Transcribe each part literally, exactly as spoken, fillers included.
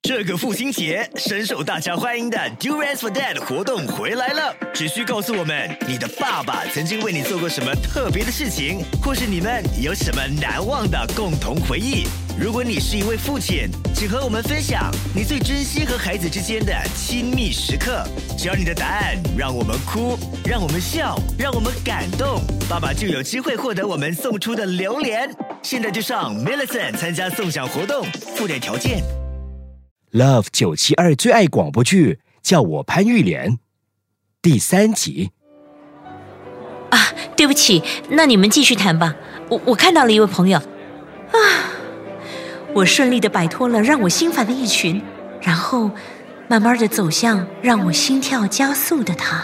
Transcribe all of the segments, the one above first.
这个父亲节，深受大家欢迎的 Duets for Dad 活动回来了。只需告诉我们你的爸爸曾经为你做过什么特别的事情，或是你们有什么难忘的共同回忆。如果你是一位父亲，请和我们分享你最珍惜和孩子之间的亲密时刻。只要你的答案让我们哭，让我们笑，让我们感动，爸爸就有机会获得我们送出的榴莲。现在就上 Millicent 参加送奖活动，附带条件。 Love 九七二最爱广播剧，叫我潘玉莲，第三集。 啊，对不起，那你们继续谈吧。我我看到了一位朋友，啊，我顺利地摆脱了让我心烦的一群，然后慢慢地走向让我心跳加速的他。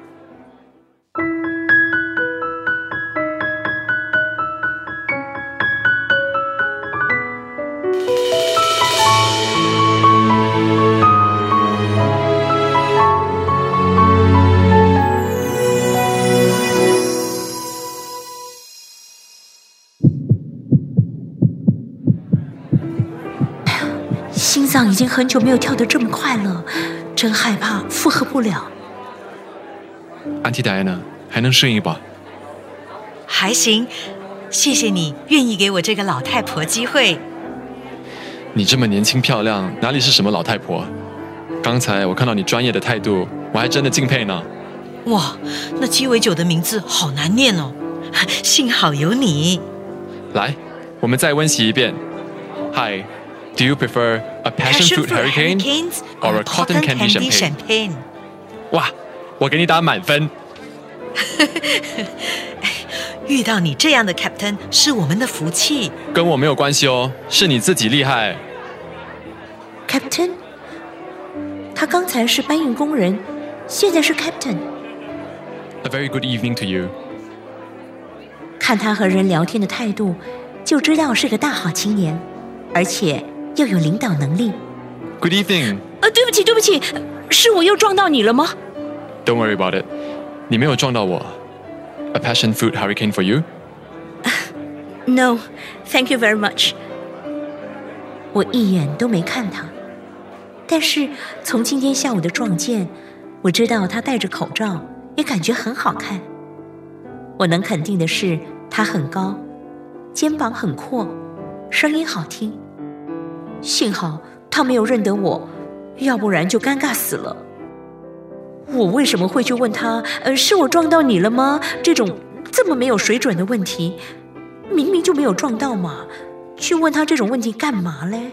心脏已经很久没有跳得这么快了，真害怕负荷不了。 Auntie Diana， 还能适应吧？ 还行，谢谢你愿意给我这个老太婆机会。 你这么年轻漂亮，哪里是什么老太婆？刚才我看到你专业的态度，我还真的敬佩呢。 哇，那鸡尾酒的名字好难念哦，幸好有你。 来，我们再温习一遍。Hi。Do you prefer a passion fruit hurricane or a cotton candy champagne? 哇，我给你打满分。 遇到你这样的 Captain 是我们的福气。 跟我没有关系哦，是你自己厉害。 Captain？ 他刚才是搬运工人，现在是 Captain。 A very good evening to you。 看他和人聊天的态度，就知道是个大好青年，而且又有领导能力。 Good evening。 呃，对不起对不起，是我又撞到你了吗？ Don't worry about it， 你没有撞到我。 A passion fruit hurricane for you？ No, thank you very much。 我一眼都没看他，但是从今天下午的撞见，我知道他戴着口罩也感觉很好看。我能肯定的是他很高，肩膀很阔，声音好听。幸好他没有认得我，要不然就尴尬死了。我为什么会去问他，呃，是我撞到你了吗？这种这么没有水准的问题，明明就没有撞到嘛，去问他这种问题干嘛嘞？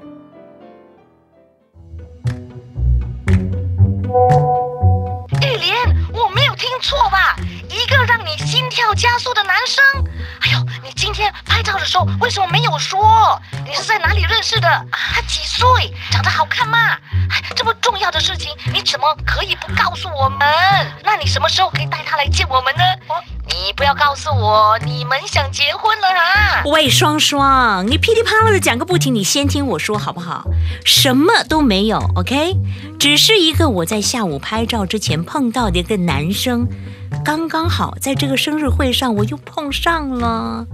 玉莲，我没有听错吧？一个让你心跳加速的男生。哎呦，你今天拍照的时候为什么没有说？你是在哪里认识的？他几岁？长得好看吗？这么重要的事情，你怎么可以不告诉我们？那你什么时候可以带他来见我们呢？你不要告诉我你们想结婚了啊！ 喂，双双，你噼里啪啦的讲个不停，你先听我说好不好？什么都没有 ，OK？ 只是一个我在下午拍照之前碰到的一个男生，刚刚好在这个生日会上我又碰上了。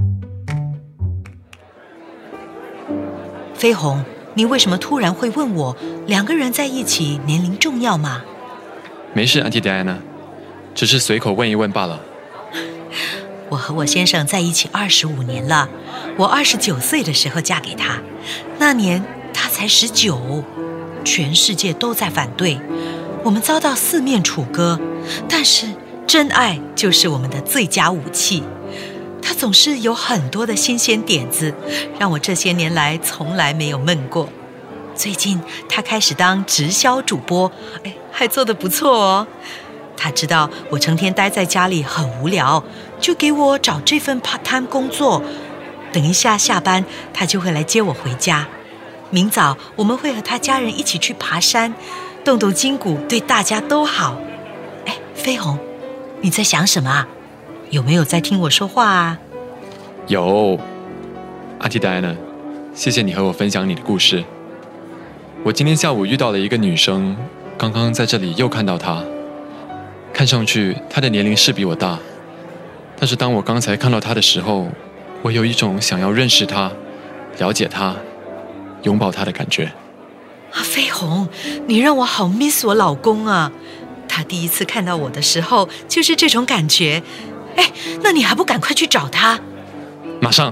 飞鸿，你为什么突然会问我两个人在一起年龄重要吗？ 没事 Auntie Diana， 只是随口问一问罢了。 我和我先生在一起二十五年了，我二十九岁的时候嫁给他，那年他才十九，全世界都在反对，我们遭到四面楚歌，但是真爱就是我们的最佳武器。他总是有很多的新鲜点子，让我这些年来从来没有闷过。最近他开始当直销主播，哎，还做得不错哦。他知道我成天待在家里很无聊，就给我找这份 part time 工作。等一下下班，他就会来接我回家。明早我们会和他家人一起去爬山，动动筋骨，对大家都好。哎，飞鸿，你在想什么啊？有没有在听我说话啊？ 有 Auntie Diana， 谢谢你和我分享你的故事。我今天下午遇到了一个女生，刚刚在这里又看到她。看上去她的年龄是比我大，但是当我刚才看到她的时候，我有一种想要认识她、了解她、拥抱她的感觉。 啊，飞飞鸿，你让我好 miss 我老公啊！他第一次看到我的时候就是这种感觉。哎，那你还不赶快去找他？ 马上。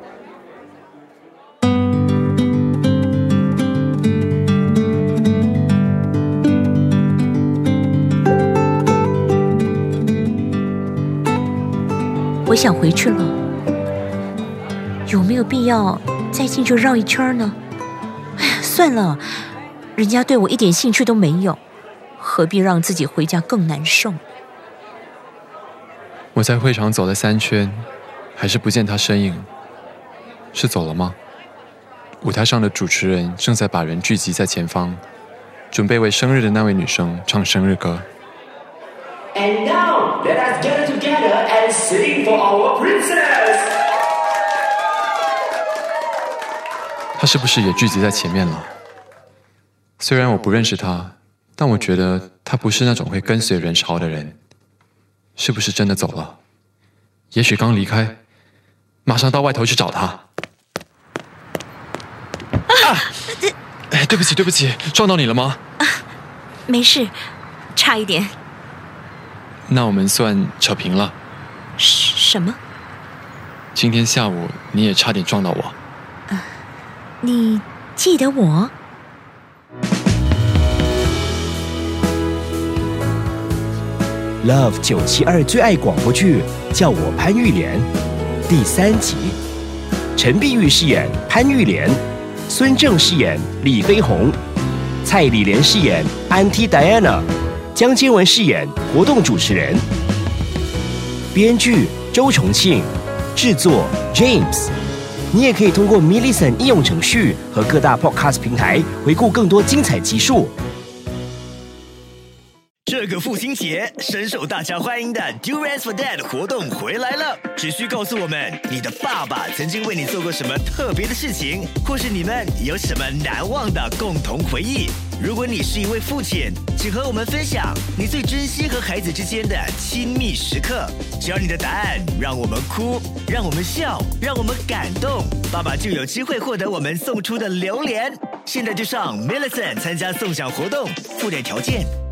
我想回去了，有没有必要再进去绕一圈呢？哎呀，算了，人家对我一点兴趣都没有，何必让自己回家更难受？ 我在会场走了三圈，还是不见他身影。是走了吗？舞台上的主持人正在把人聚集在前方，准备为生日的那位女生唱生日歌。 And now, let us gather together and sing for our princess. 他是不是也聚集在前面了？虽然我不认识他，但我觉得他不是那种会跟随人潮的人。是不是真的走了？也许刚离开，马上到外头去找他。啊！哎，对不起，对不起，撞到你了吗？ 啊，没事，差一点。 那我们算扯平了。 什么？ 今天下午你也差点撞到我。 呃，你记得我 ？Love 九七二最爱广播剧，叫我潘玉莲，第三集。陈碧玉饰演潘玉莲，孙正饰演李飞鸿，蔡李莲饰演 Auntie Diana， 江坚文饰演活动主持人。编剧周重庆，制作 James。你也可以通过 Millicent 应用程序和各大 Podcast 平台回顾更多精彩集数。 这个父亲节，深受大家欢迎的 Duets for Dad 活动回来了！只需告诉我们你的爸爸曾经为你做过什么特别的事情，或是你们有什么难忘的共同回忆。如果你是一位父亲，请和我们分享你最珍惜和孩子之间的亲密时刻。只要你的答案让我们哭，让我们笑，让我们感动，爸爸就有机会获得我们送出的榴莲。现在就上 Millicent 参加送奖活动，附带条件。